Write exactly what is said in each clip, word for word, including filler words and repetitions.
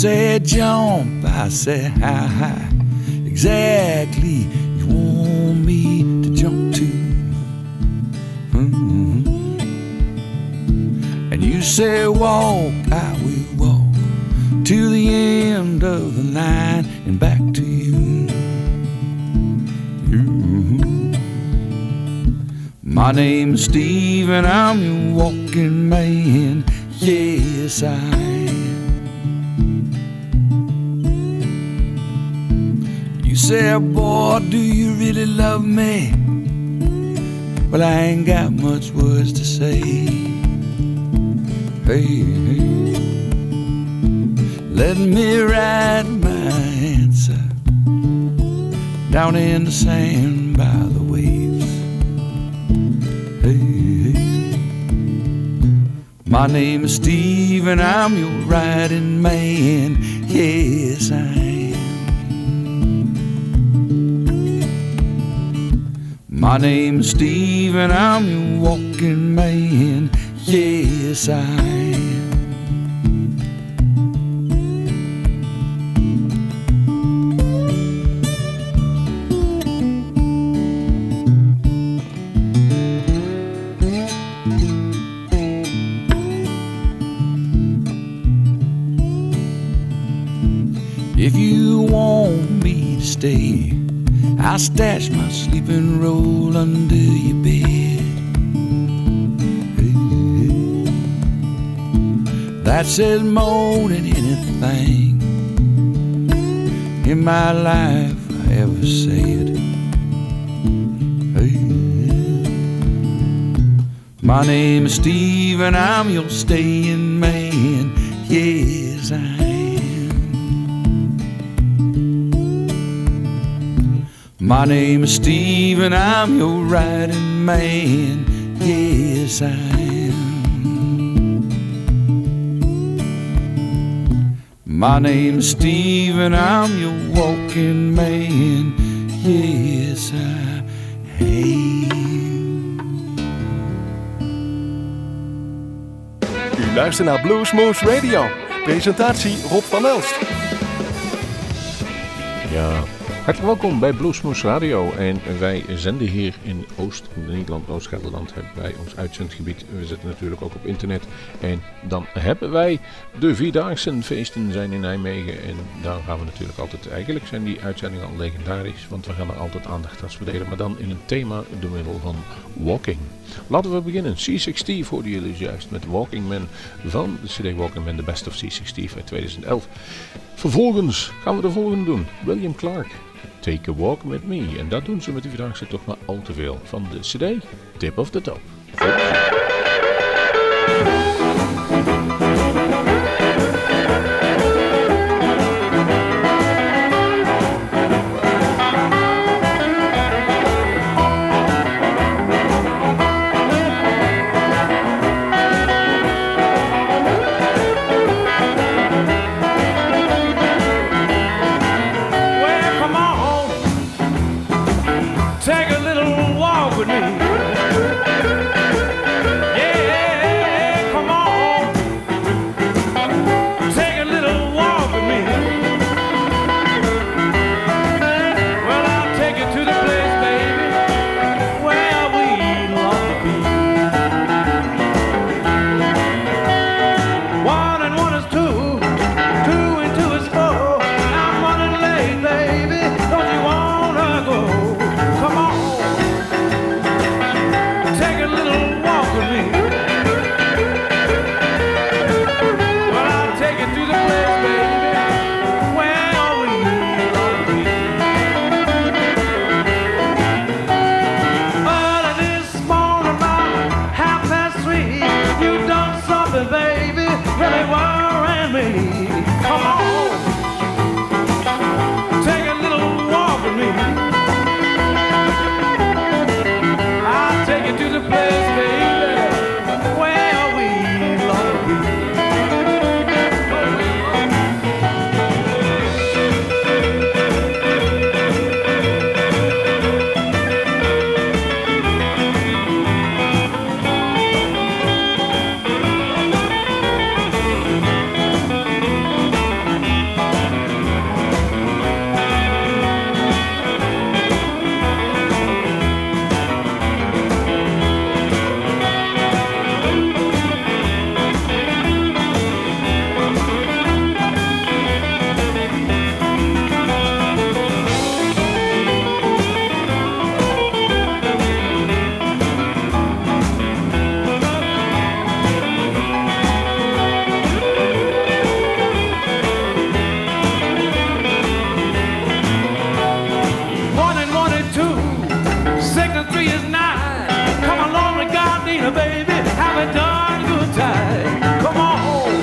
said jump, I said how high exactly you want me to jump to. Mm-hmm. And you said walk, I will walk to the end of the line and back to you. Mm-hmm. My name's Steve and I'm your walking man. Yes, I am. You said, boy, do you really love me? Well, I ain't got much words to say. Hey, hey. Let me write my answer down in the sand by the waves. Hey, hey. My name is Steve and I'm your riding man. Yes, I am. My name is Steve and I'm your walking man. Yes, I am. If you want me to stay, I'll stash my sleeping roll under your bed. Hey, hey. That says more than anything in my life I ever said. Hey, hey. My name is Steve and I'm your staying man. Yes, I am. My name is Steve and I'm your riding man. Yes, I am. My name is Steve and I'm your walking man. Yes, I am. U luistert naar Bluesmoose Radio. Presentatie Rob van Elst. Ja... Hartelijk welkom bij Bluesmoose Radio en wij zenden hier in Oost-Nederland, Oost-Gelderland hebben wij ons uitzendgebied. We zitten natuurlijk ook op internet en dan hebben wij de Vierdaagse feesten zijn in Nijmegen en daar gaan we natuurlijk altijd, eigenlijk zijn die uitzendingen al legendarisch, want we gaan er altijd aandacht aan verdelen, maar dan in een thema door middel van walking. Laten we beginnen. C zestig hoorden jullie juist met Walking Man van de C D Walking Man, The Best of C zestig uit tweeduizend elf. Vervolgens gaan we de volgende doen. William Clark. Take a Walk With Me. En dat doen ze met die Vierdaagse toch maar al te veel. Van de C D Tip of the Top. Take a little walk with me. three is nine. Come along to Gardena, baby, have a darn good time. Come on home,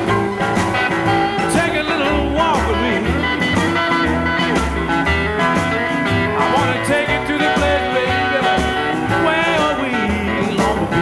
take a little walk with me. I wanna take you to the place, baby, where we long to be.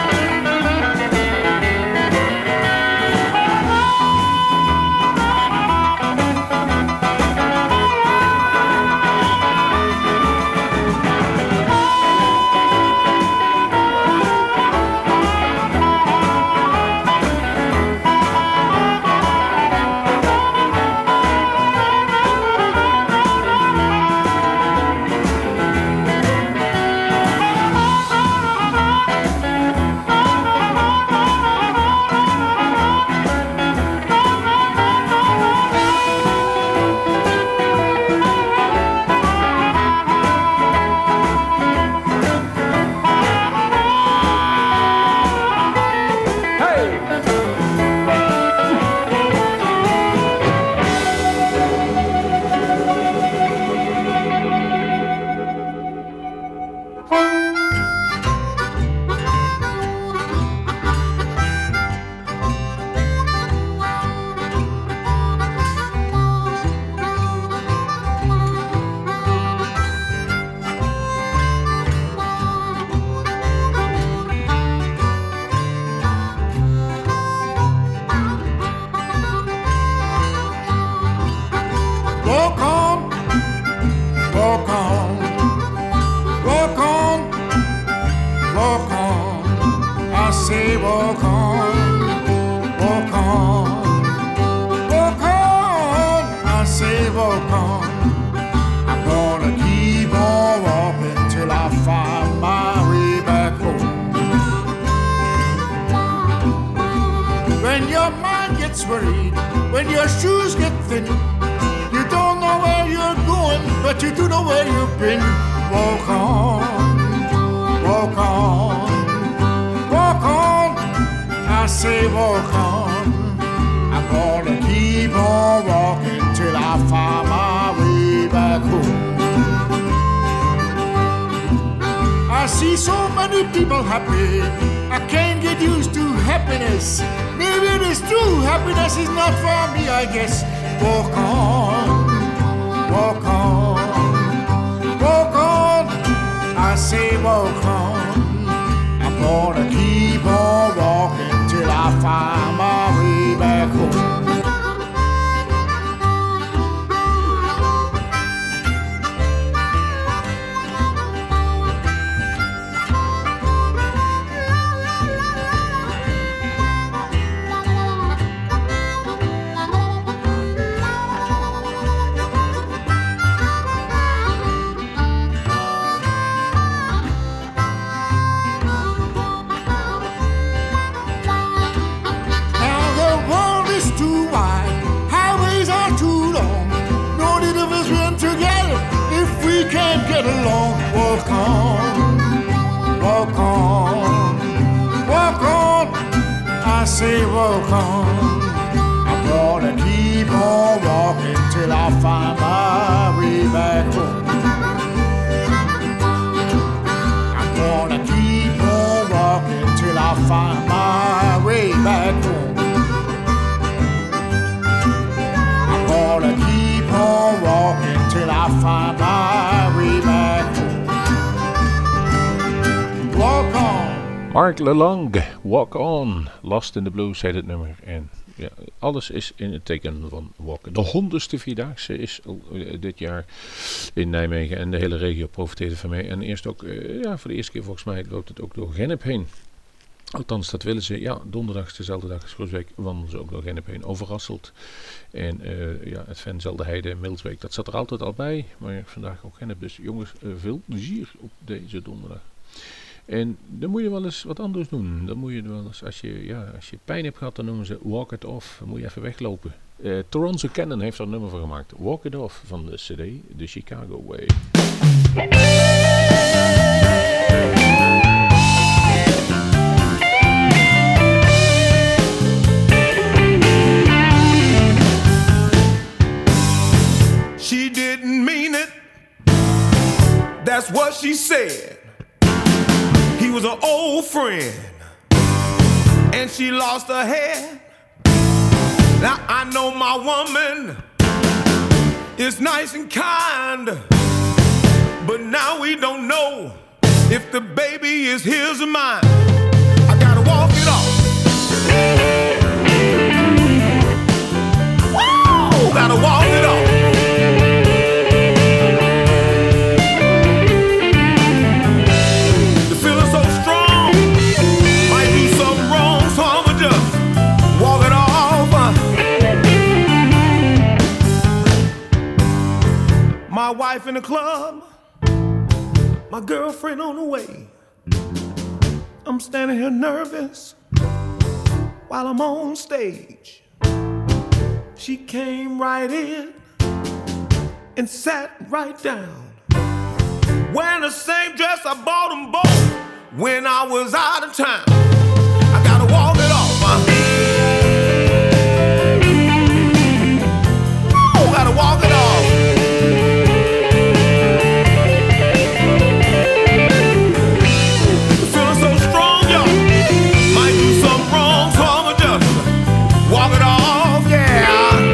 Mark Lelang, Walk On, Lost in the Blues heet het nummer. En ja, alles is in het teken van Walk. De honderdste Vierdaagse is uh, dit jaar in Nijmegen en de hele regio profiteert van mee. En eerst ook, uh, ja, voor de eerste keer volgens mij loopt het ook door Gennep heen. Althans, dat willen ze. Ja, donderdag, dezelfde dag als Groesbeek, wandelen ze ook door Gennep heen. Overrasseld. En uh, ja, het Venzelde Heide, Milsbeek, dat zat er altijd al bij. Maar vandaag ook Gennep. Dus jongens, uh, veel plezier op deze donderdag. En dan moet je wel eens wat anders doen. Dan moet je wel eens, als je, ja, als je pijn hebt gehad, dan noemen ze walk it off. Dan moet je even weglopen. Uh, Toronto Cannon heeft er een nummer van gemaakt. Walk it off van de C D, The Chicago Way. She didn't mean it. That's what she said. She was an old friend, and she lost her head. Now I know my woman is nice and kind, but now we don't know if the baby is his or mine. I gotta walk it off. Woo! Gotta walk it off. The feeling's so strong, might do something wrong, so I'ma just walk it off. My wife in the club, my girlfriend on the way. I'm standing here nervous while I'm on stage. She came right in and sat right down, wearing the same dress I bought them both when I was out of town. I gotta walk it off, huh? Ooh, gotta walk it off. Walk it off, yeah.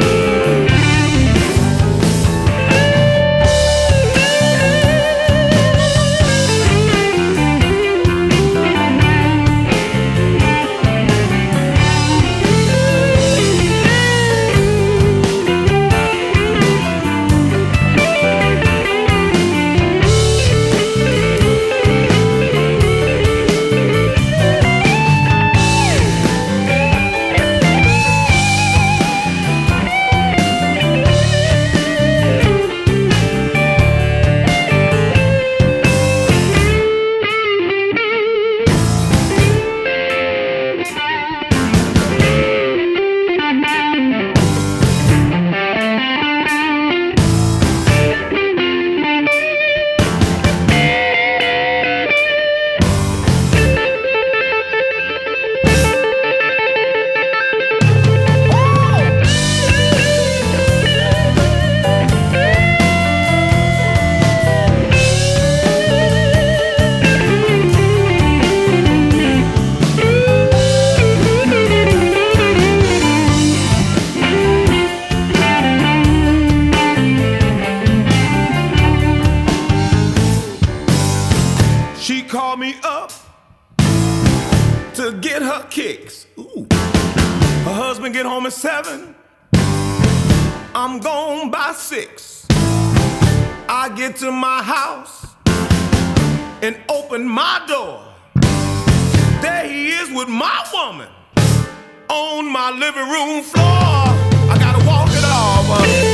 Seven, I'm gone by six. I get to my house and open my door. There he is with my woman on my living room floor. I gotta walk it off.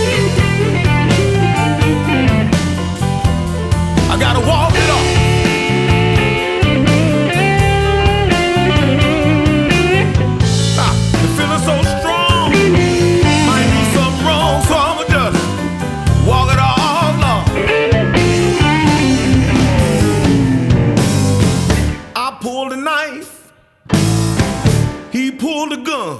I gotta walk it off. Ah, the feeling's so strong. Walk it off, Lord. I pulled a knife, he pulled a gun,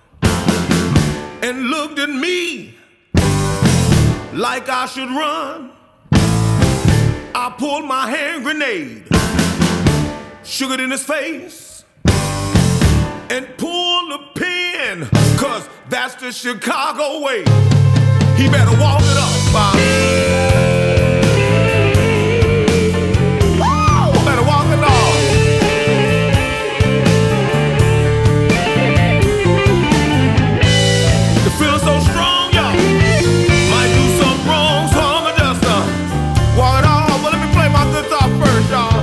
and looked at me like I should run. I pulled my hand grenade, shook it in his face, and pulled the pin, cause that's the Chicago way. He better walk it up, Bob. Woo! Better walk it off. The feeling's so strong, y'all. Might do something wrong, so I'ma just uh, walk it off. Well, let me play my guitar first, y'all.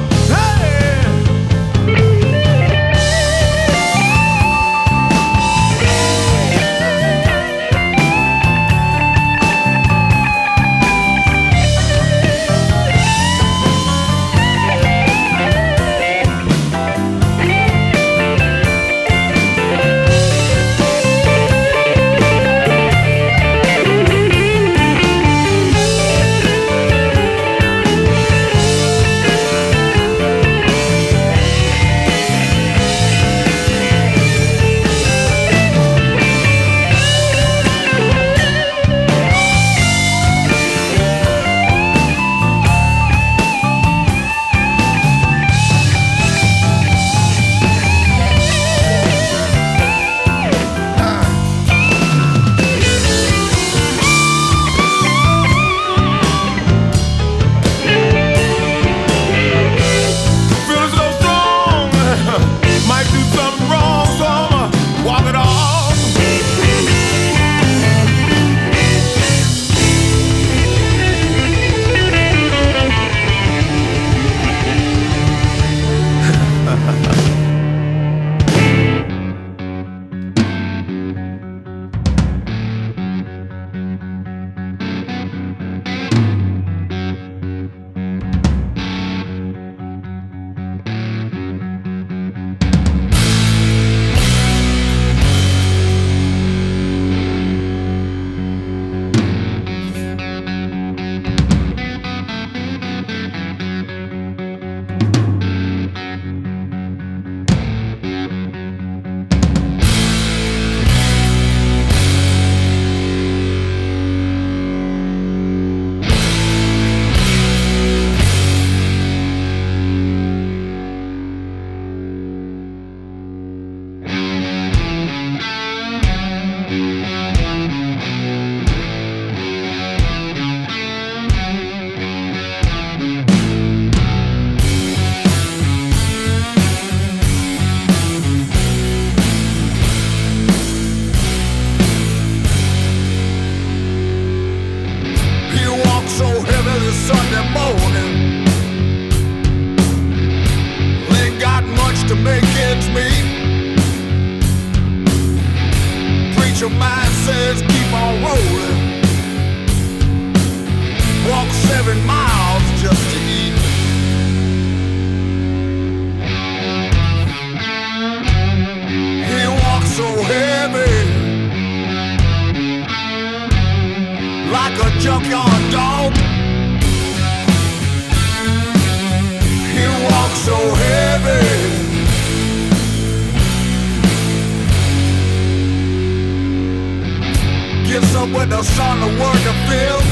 son to work a field.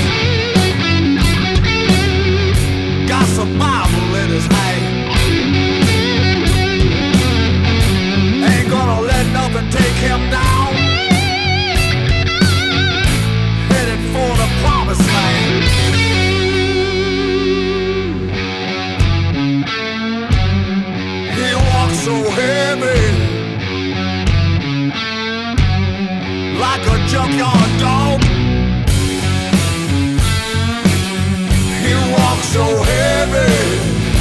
Got some Bible in his hand. Ain't gonna let nothing take him down. Headed for the promised land. He walks so heavy, like a junkyard dog. He walks so heavy.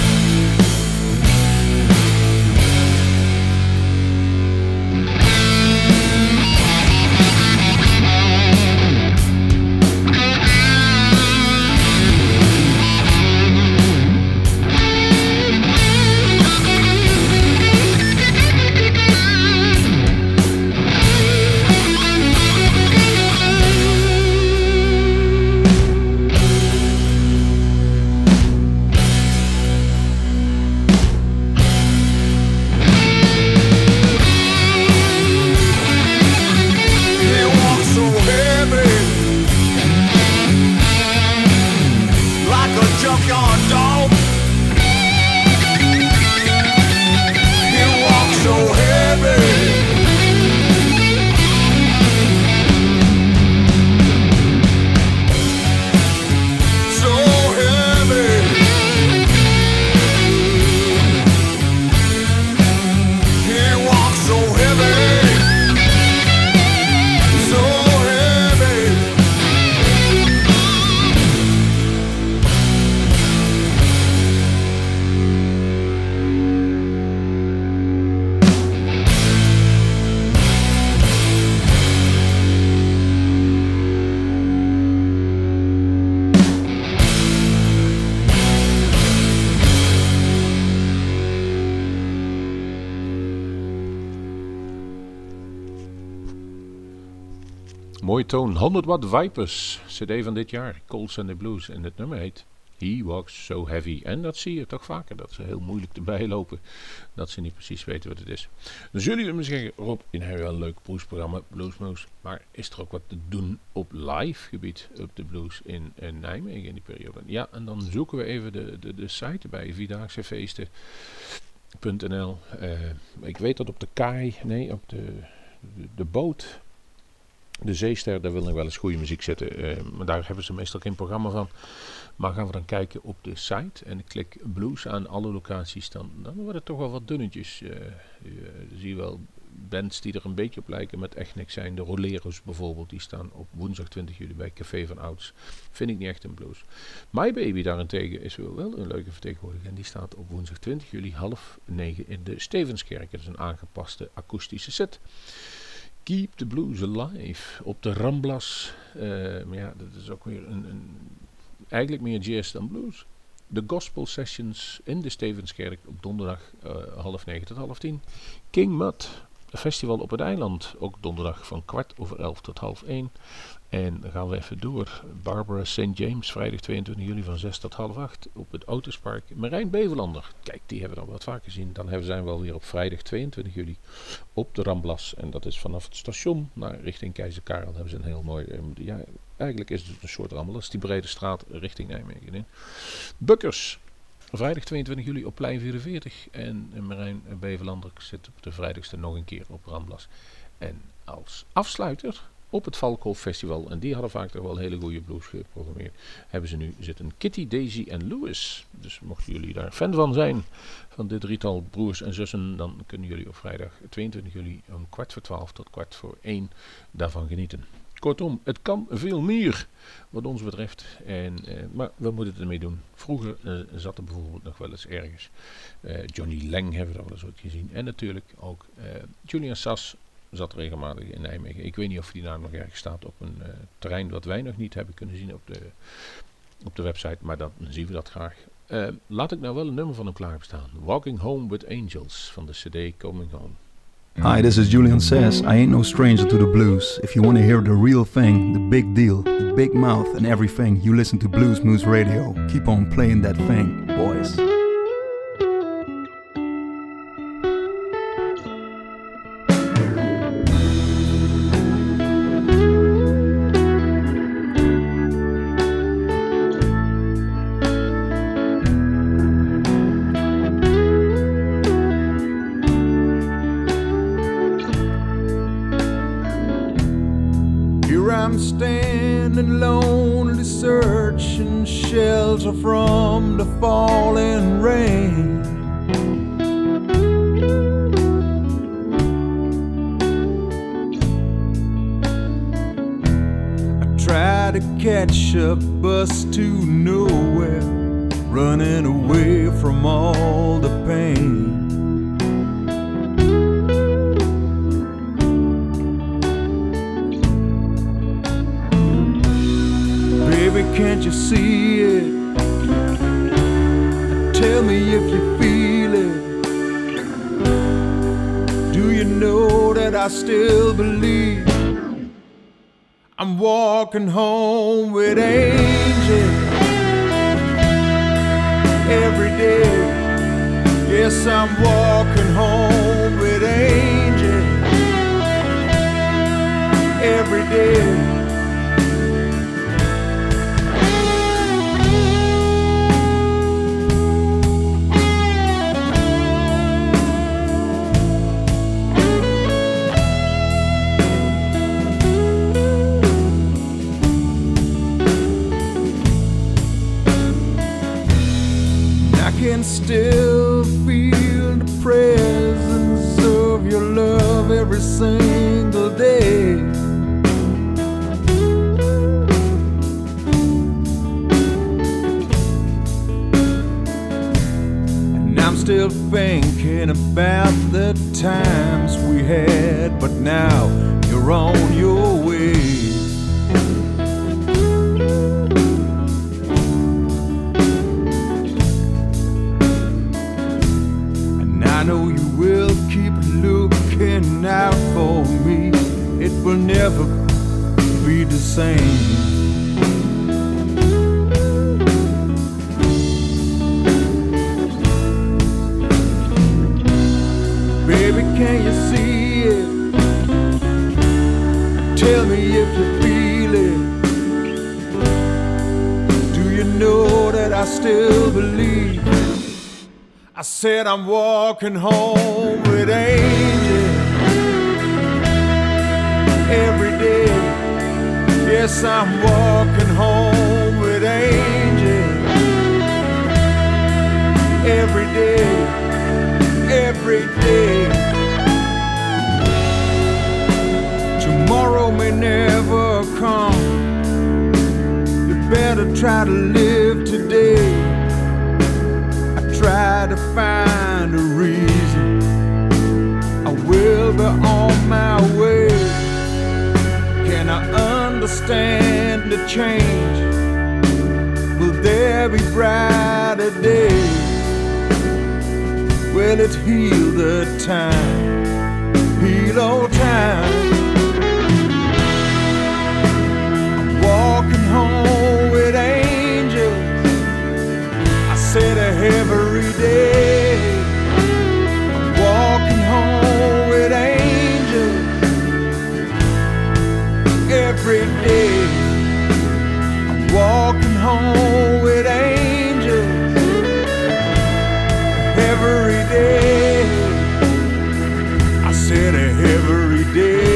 Mooie toon, honderd watt Vipers, cd van dit jaar, Cold Sunday Blues. En het nummer heet He Walks So Heavy. En dat zie je toch vaker, dat ze heel moeilijk erbij lopen, dat ze niet precies weten wat het is. Dan zullen jullie me zeggen, Rob, in heb je wel een leuk bluesprogramma, Bluesmoose, maar is er ook wat te doen op live gebied op de blues in, in Nijmegen in die periode? Ja, en dan zoeken we even de, de, de site bij, vierdaagsefeesten punt n l. Uh, ik weet dat op de kaai, nee, op de, de, de boot... De Zeester, daar wil nog wel eens goede muziek zitten. Uh, maar daar hebben ze meestal geen programma van. Maar gaan we dan kijken op de site. En ik klik blues aan alle locaties. Dan, dan worden het toch wel wat dunnetjes. Uh, uh, zie je wel bands die er een beetje op lijken. Met echt niks zijn. De Roleros bijvoorbeeld. Die staan op woensdag twintig juli bij Café van Ouds. Vind ik niet echt een blues. My Baby daarentegen is wel een leuke vertegenwoordiger. En die staat op woensdag twintig juli half negen in de Stevenskerk. Dat is een aangepaste akoestische set. Keep the Blues Alive op de Ramblas. Uh, maar ja, dat is ook weer een, een, eigenlijk meer jazz dan blues. De Gospel Sessions in de Stevenskerk op donderdag uh, half negen tot half tien. King Mud, een festival op het eiland. Ook donderdag van kwart over elf tot half één. En dan gaan we even door. Barbara Saint James, vrijdag tweeëntwintig juli van zes tot half acht op het Autospark. Marijn Bevelander, kijk, die hebben we dan wat vaker gezien. Dan hebben, zijn we alweer op vrijdag tweeëntwintig juli op de Ramblas. En dat is vanaf het station naar richting Keizer Karel. Hebben ze een heel mooi, ja, eigenlijk is het een soort Ramblas. Die brede straat richting Nijmegen in. Bukkers, vrijdag tweeëntwintig juli op plein vierenveertig. En Marijn Bevelander zit op de vrijdagste nog een keer op Ramblas. En als afsluiter op het Valkhof Festival, en die hadden vaak toch wel hele goede blues geprogrammeerd, hebben ze nu zitten Kitty, Daisy en Louis. Dus mochten jullie daar fan van zijn, van dit drietal broers en zussen, dan kunnen jullie op vrijdag tweeëntwintig juli om kwart voor twaalf tot kwart voor één daarvan genieten. Kortom, het kan veel meer wat ons betreft. En, uh, maar we moeten het ermee doen. Vroeger uh, zat er bijvoorbeeld nog wel eens ergens uh, Johnny Lang, hebben we dat wel eens ooit gezien. En natuurlijk ook uh, Julian Sass zat regelmatig in Nijmegen. Ik weet niet of die naam nog ergens staat op een uh, terrein wat wij nog niet hebben kunnen zien op de, op de website. Maar dan zien we dat graag. Uh, laat ik nou wel een nummer van hem klaarstaan. Walking Home with Angels van de cd Coming Home. Hi, this is Julian Sass. I ain't no stranger to the blues. If you want to hear the real thing, the big deal, the big mouth and everything, you listen to Bluesmoose Radio. Keep on playing that thing, boys. feeling lonely, searching shelter from the falling rain. Try to catch a bus to nowhere, running away from all the pain. Baby, can't you see it? Tell me if you feel it. Do you know that I still believe I'm walking home with angels every day? Yes, I'm walking home with angels every day. Can still feel the presence of your love every single day. And I'm still thinking about the times we had, but now you're on your way. I know you will keep looking out for me. It will never be the same. Baby, can you see it? Tell me if you feel it. Do you know that I still believe? I said I'm walking home with angels every day. Yes, I'm walking home with angels every day, every day. Tomorrow may never come. You better try to live today. Try to find a reason. I will be on my way. Can I understand the change? Will there be brighter days? Will it heal the time? Heal all time. I'm walking home with angels. I said every day. I'm walking home with angels every day. I'm walking home with angels every day. I said every day.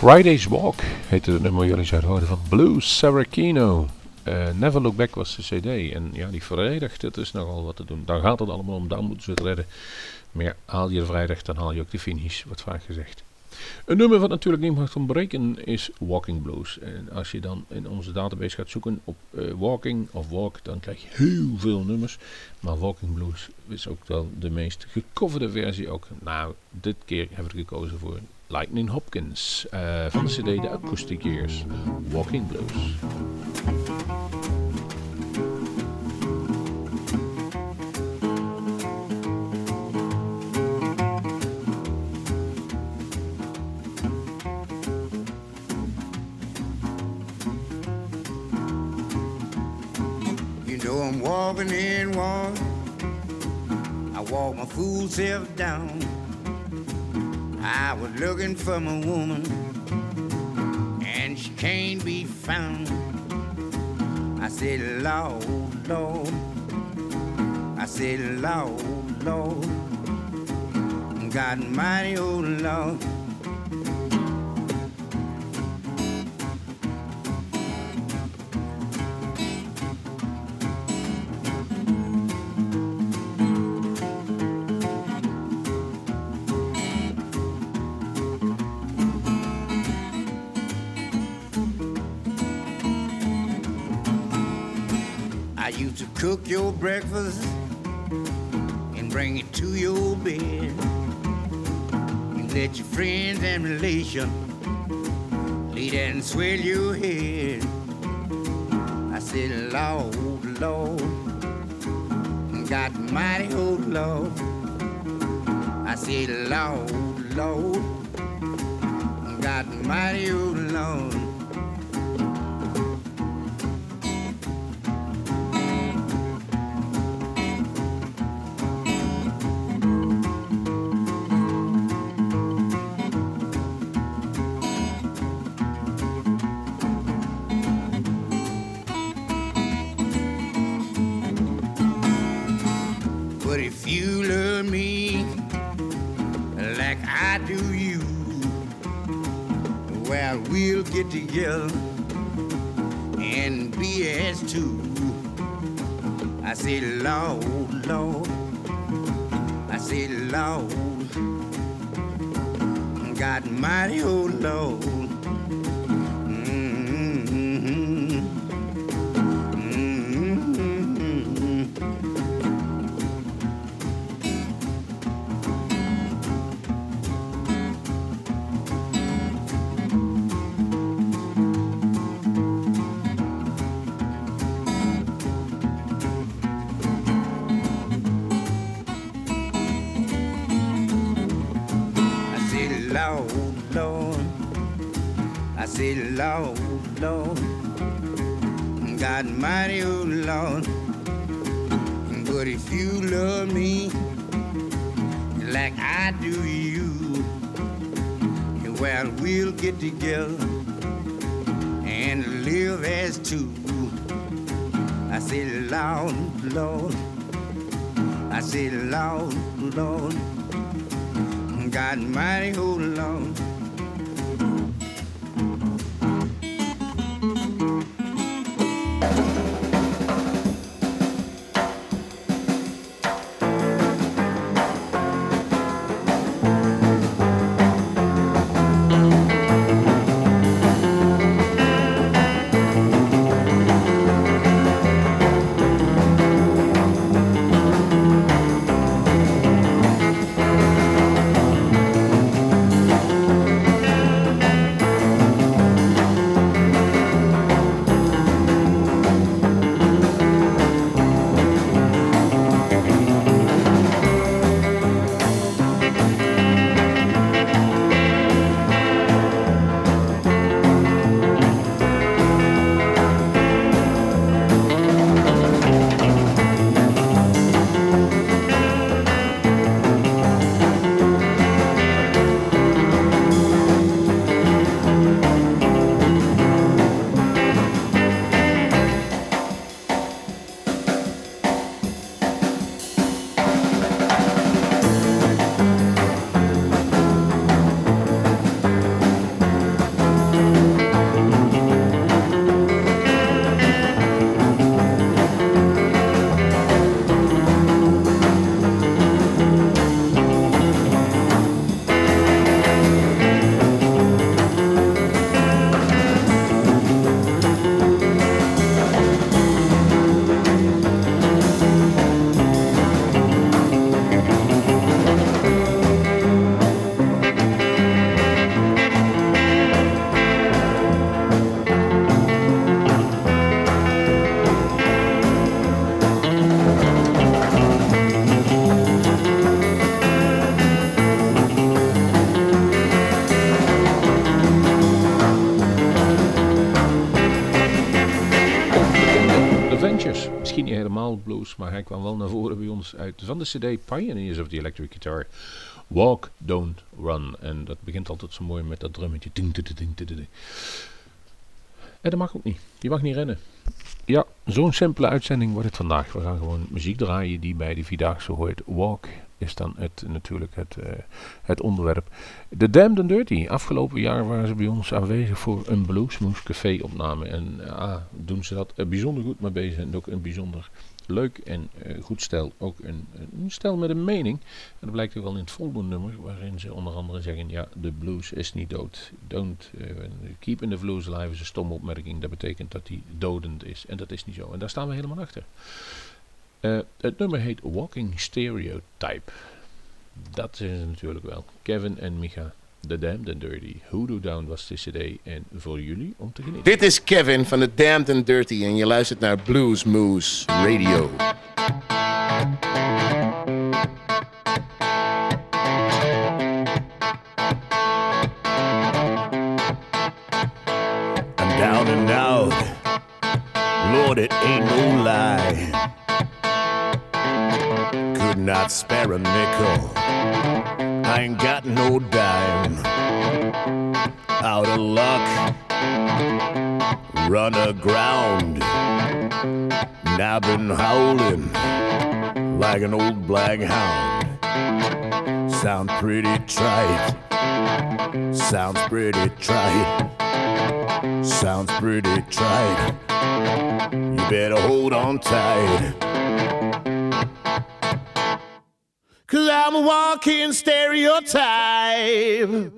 Friday's Walk heette het nummer, jullie zouden horen van Blues Saracino. Uh, Never Look Back was de cd. En ja, die vrijdag, dat is nogal wat te doen. Dan gaat het allemaal om, dan moeten ze het redden. Maar ja, haal je de vrijdag, dan haal je ook de finish, wordt vaak gezegd. Een nummer wat natuurlijk niet mag ontbreken is Walking Blues. En als je dan in onze database gaat zoeken op uh, Walking of Walk, dan krijg je heel veel nummers. Maar Walking Blues is ook wel de meest gecoverde versie ook. Nou, dit keer hebben we gekozen voor Lightning Hopkins uh, van de cd The Acoustic Years. Walking Blues. So I'm walking in one, I walk my fool self down. I was looking for my woman, and she can't be found. I said, Lord, Lord, I said, Lord, Lord, God mighty, oh Lord. Cook your breakfast and bring it to your bed. You let your friends and relations lay there and swell your head. I said, Lord, Lord, God mighty, oh Lord. I said, Lord, Lord, God mighty, oh Lord. Get together and be as two. I said, Lord, Lord, I said, Lord, God mighty, oh Lord. Lord, Lord, God mighty, oh Lord. But if you love me like I do you, well, we'll get together and live as two. I said, Lord, Lord, I said, Lord, Lord, God mighty, oh Lord. Avengers. Misschien niet helemaal blues, maar hij kwam wel naar voren bij ons uit van de cd Pioneers of the Electric Guitar. Walk, Don't Run. En dat begint altijd zo mooi met dat drummetje. Ding, ding, ding, ding, ding. En dat mag ook niet. Je mag niet rennen. Ja, zo'n simpele uitzending wordt het vandaag. We gaan gewoon muziek draaien die bij de Vierdaagse hoort. Walk is dan het, natuurlijk het, uh, het onderwerp. The Damned and Dirty. Afgelopen jaar waren ze bij ons aanwezig voor een Bluesmoose Café opname. En uh, doen ze dat uh, bijzonder goed mee bezig. En ook een bijzonder leuk en uh, goed stel. Ook een, een stel met een mening. En dat blijkt ook wel in het volgende nummer. Waarin ze onder andere zeggen. Ja, de blues is niet dood. Don't uh, keep the blues alive is een stomme opmerking. Dat betekent dat hij dodend is. En dat is niet zo. En daar staan we helemaal achter. Uh, het nummer heet Walking Stereotype. Dat is het natuurlijk wel. Kevin en Micha. The Damned and Dirty. Hoodoo Down was de cd. En voor jullie om te genieten. Dit is Kevin van The Damned and Dirty. En je luistert naar Bluesmoose Radio. I'm down and out. Lord, it ain't no lie. Could not spare a nickel. I ain't got no dime. Out of luck, run aground. Now I've been howling like an old black hound. Sound pretty trite. Sounds pretty trite. Sounds pretty trite. You better hold on tight. 'Cause I'm a walking stereotype.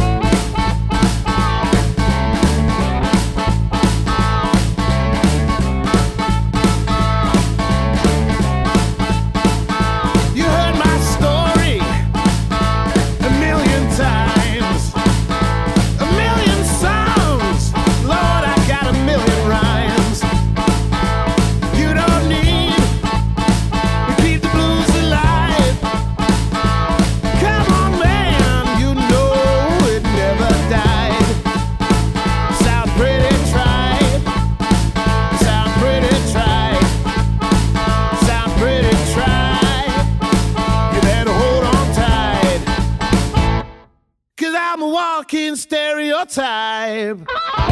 You heard my story a million times, a million songs. Lord, I got a million rhymes. You don't need to keep the blues alive. Come on, man, you know it never died. Sound pretty tried. Sound pretty tried. Sound pretty tried. You better hold on tight. 'Cause I'm a walking stereotype.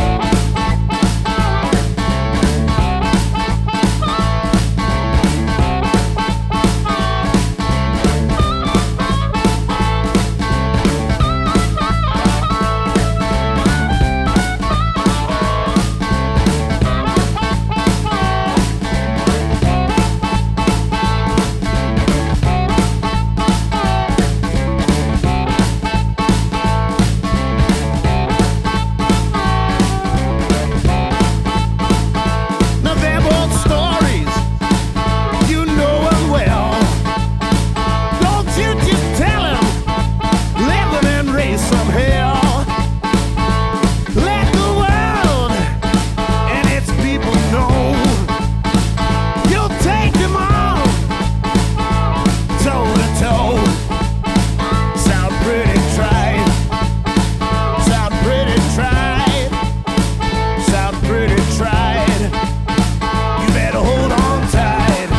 Now them old stories, you know them well. Don't you just tell them, let them and raise some hell. Let the world and its people know you'll take them on toe to toe. Sound pretty tried. Sound pretty tried. Sound pretty tried. You better hold on tight.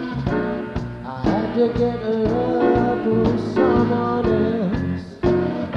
To get love from someone else.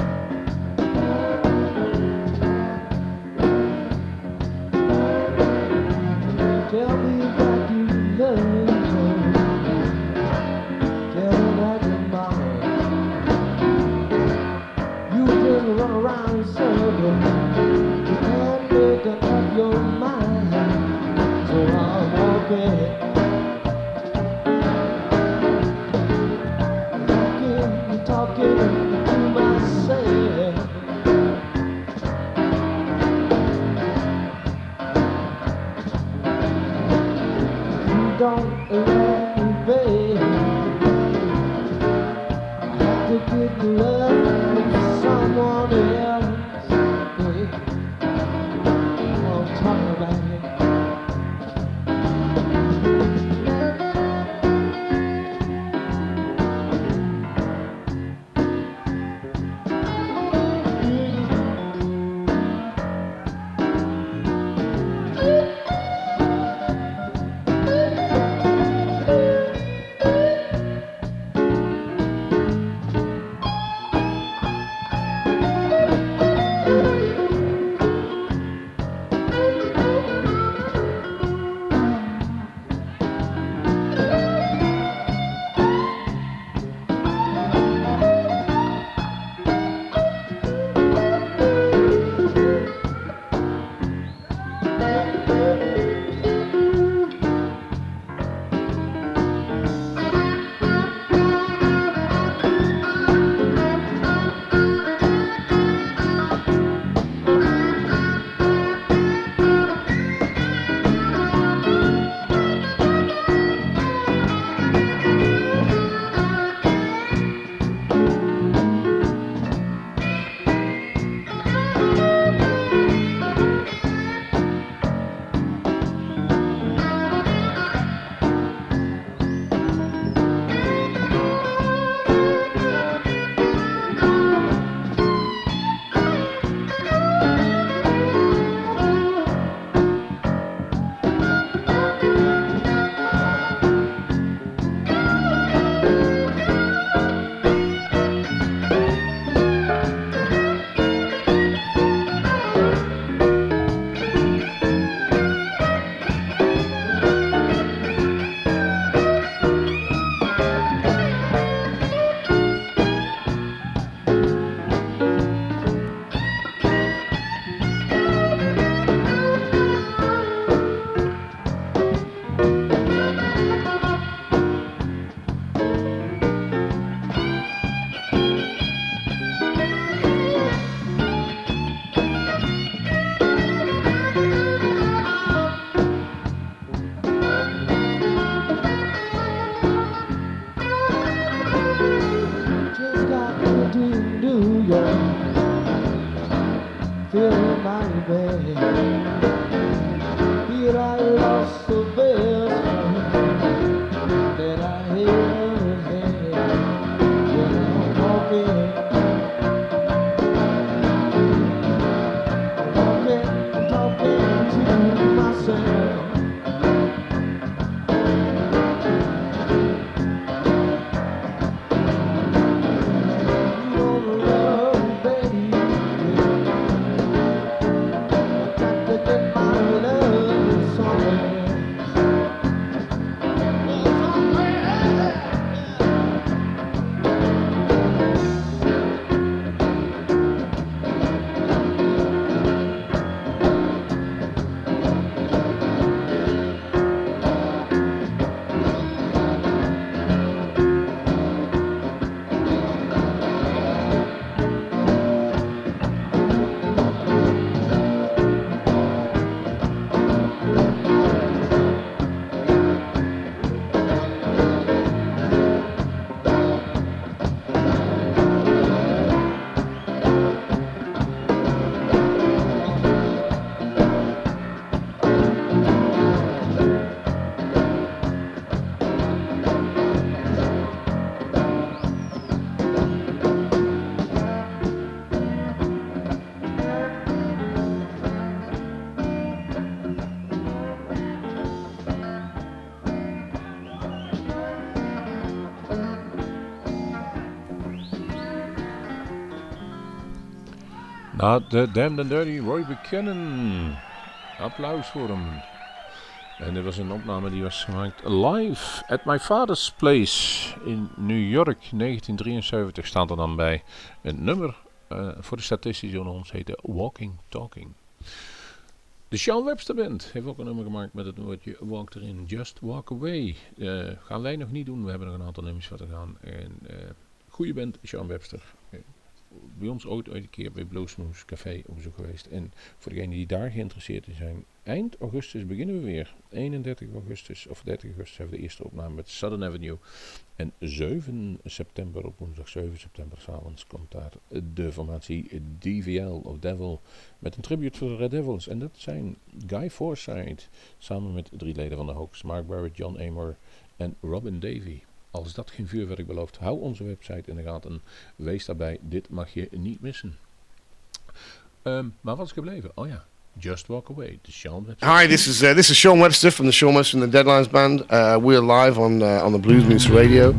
Nou, de Damned and Dirty Roy Buchanan. Applaus voor hem. En dit was een opname die was gemaakt live at my father's place in New York. negentien drieënzeventig staat er dan bij. Een nummer uh, voor de statistici onder ons heette Walking Talking. De Sean Webster Band heeft ook een nummer gemaakt met het woordje walk erin. Just Walk Away. Uh, gaan wij nog niet doen. We hebben nog een aantal nummers wat te gaan. En uh, goede band, Sean Webster. Uh, bij ons ooit, ooit een keer bij Bluesmoose Café op bezoek geweest. En voor degenen die daar geïnteresseerd in zijn, eind augustus beginnen we weer. eenendertig augustus of dertig augustus hebben we de eerste opname met Southern Avenue. En zeven september, op woensdag zeven september, 's avonds komt daar de formatie D V L of Devil met een tribute voor de Red Devils. En dat zijn Guy Forsyth samen met drie leden van de Hawks, Mark Barrett, John Amor en Robin Davey. Als dat geen vuurwerk belooft, hou onze website in de gaten. Wees daarbij, dit mag je niet missen. Um, maar wat is gebleven? Oh ja, Just Walk Away. The Sean Webster. Hi, this is uh, this is Sean Webster from the Sean Webster and the Deadlines Band. Uh, we're live on uh, on the Blues Moose Radio.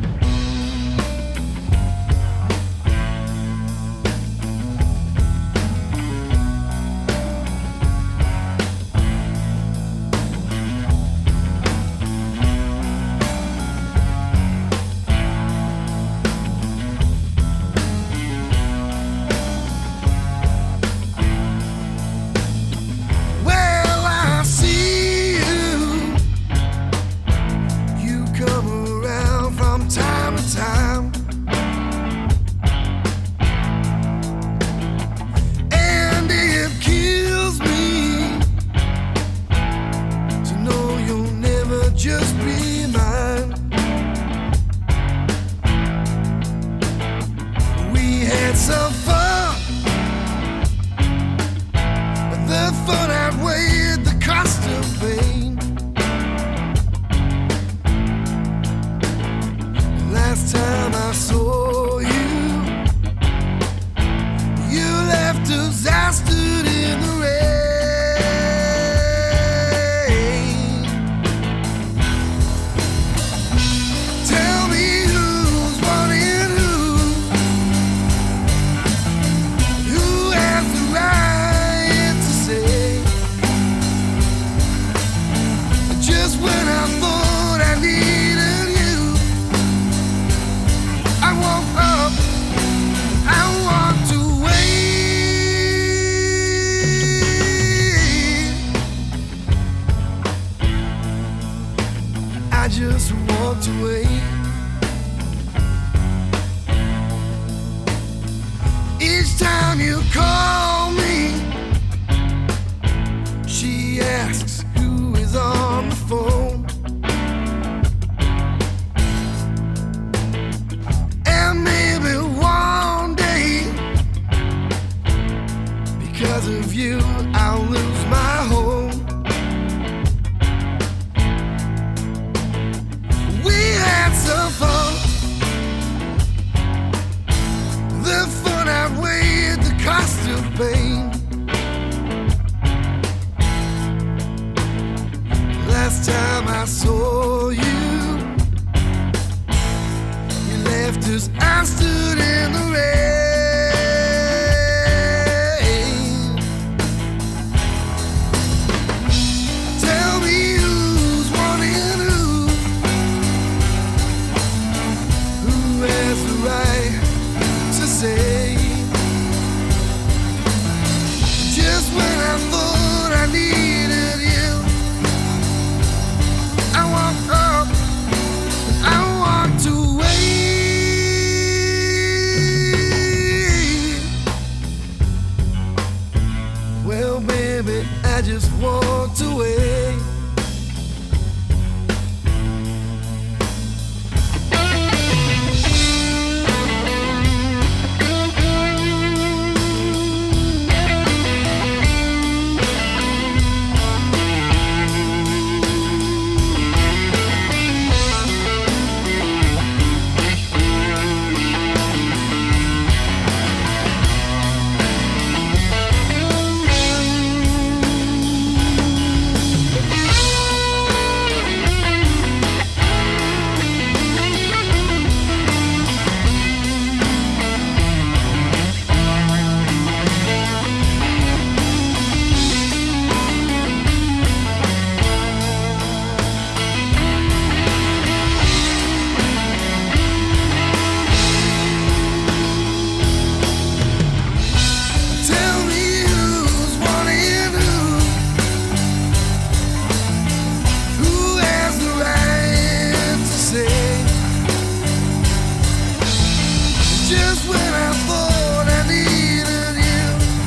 Just when I thought I needed you,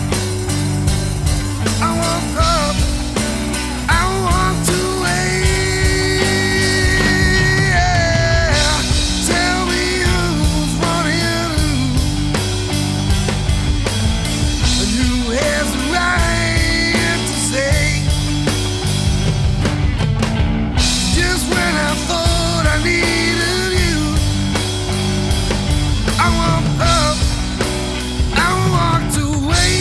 I woke up, I walked away. Yeah. Tell me who's running, and who has the right to say? Just when I thought I needed you, I woke up, I walked away.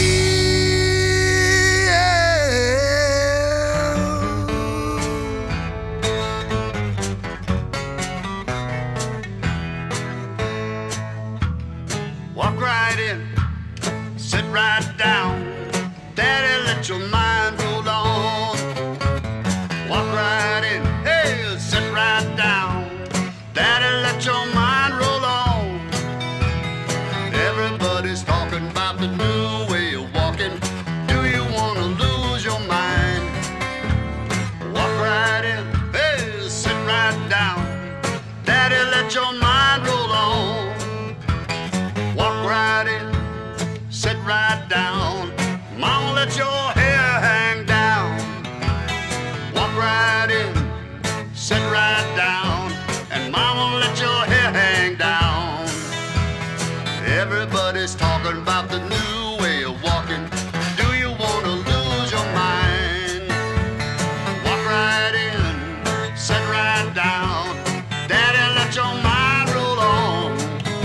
Walk right in, sit right down. Daddy, let your mind roll on. Walk right in, hey, sit right down. Daddy, let your mind roll on. Everybody's talking about the new way of walking. Do you want to lose your mind? Walk right in, hey, sit right down. Daddy, let your mind roll on. Walk right in, sit right down. Mama, let your hair hang down. Walk right in, sit right down. And mama, let your hair hang down. Everybody's talking about the new way of walking. Do you want to lose your mind? Walk right in, sit right down. Daddy, let your mind roll on.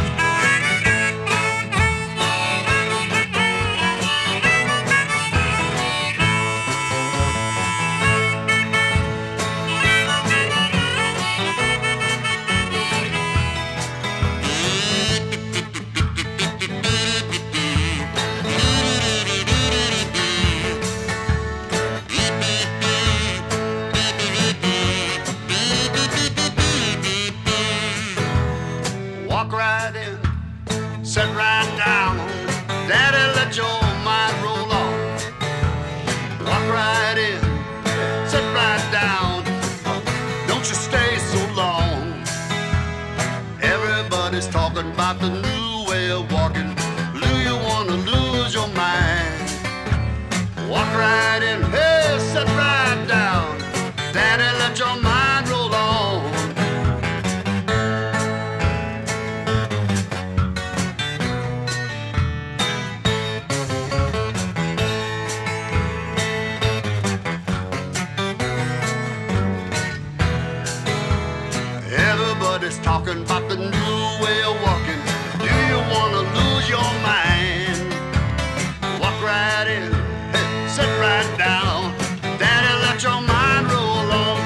Walk right in, sit right down. Daddy, let your mind roll on. Walk right in, sit right down. Don't you stay so long. Everybody's talking about the new way of walking. Do you want to lose your mind? Walk right in, hey, sit right down. Daddy, let your mind roll on. Everybody's talking about the new way of walking. Do you want to lose your mind? Walk right in, hey, sit right down. Daddy, let your mind roll on.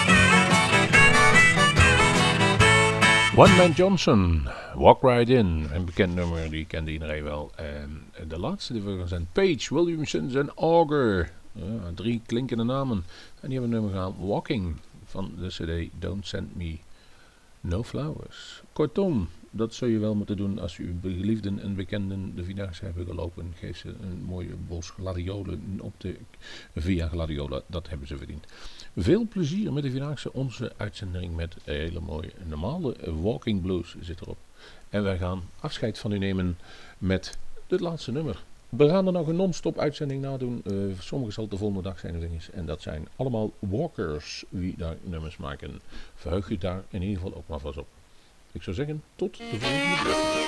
One Man Johnson, Walk Right In. Een bekend nummer, die kende iedereen wel. En de laatste die we gaan zijn Page Williamson en Auger. Ja, drie klinkende namen. En die hebben een nummer gehaald, Walking, van de cd Don't Send Me No Flowers. Kortom, dat zul je wel moeten doen als uw geliefden en bekenden de Vierdaagse hebben gelopen. Geef ze een mooie bos gladiolen op de Via Gladiola. Dat hebben ze verdiend. Veel plezier met de Vierdaagse. Onze uitzending met een hele mooie normale Walking Blues zit erop. En wij gaan afscheid van u nemen met het laatste nummer. We gaan er nog een non-stop uitzending nadoen. Uh, sommige zal de volgende dag zijn of dinges. En dat zijn allemaal walkers wie daar nummers maken. Verheug u daar in ieder geval ook maar vast op. Ik zou zeggen, tot de volgende keer.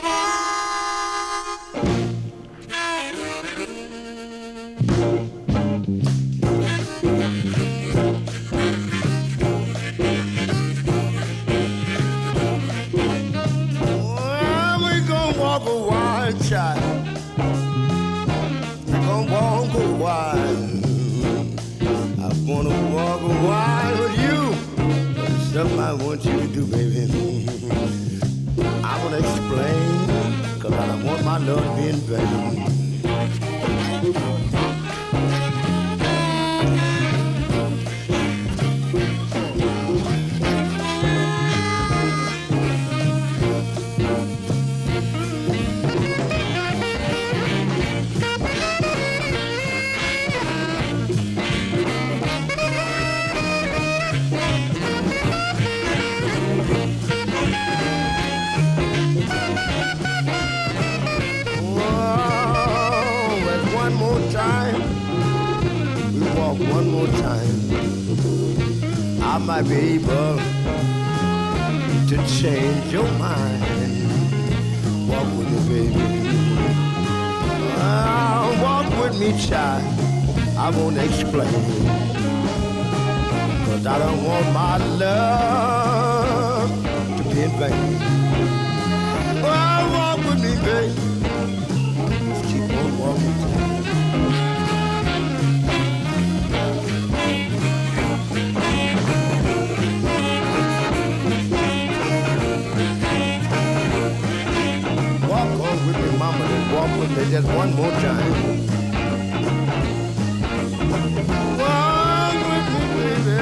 Well, we gonna walk a wild child. Gonna walk a while. I'm gonna walk a while with you. But there's something I want you to do, baby. I wanna explain, cause I don't want my love to be in vain. one more time, I might be able to change your mind. Walk with me, baby. Ah, walk with me, child. I won't explain, 'cause I don't want my love to be in vain. Oh, walk with me, baby. Just keep on walking. Walk on with me, mama, and walk with me just one more time. Walk with me, baby.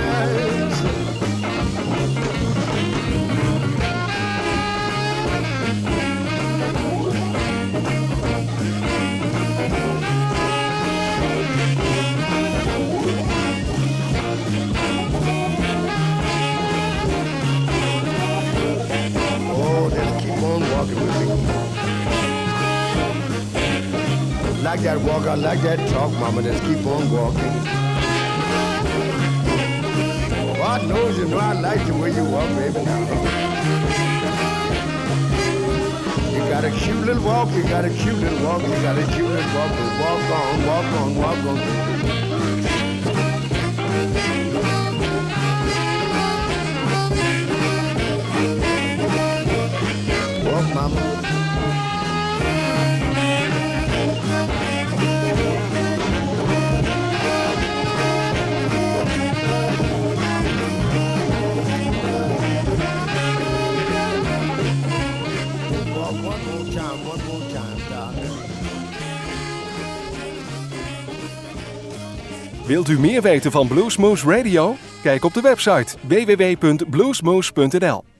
Oh, just keep on walking with me. Like that walk, I like that talk, mama, just keep on walking. God knows you know I like the way you walk, baby, now. You got a cute little walk, you got a cute little walk, you got a cute little walk, but walk on, walk on, walk on, baby. Walk, mama. Wilt u meer weten van Bluesmoose Radio? Kijk op de website w w w punt bluesmoose punt n l.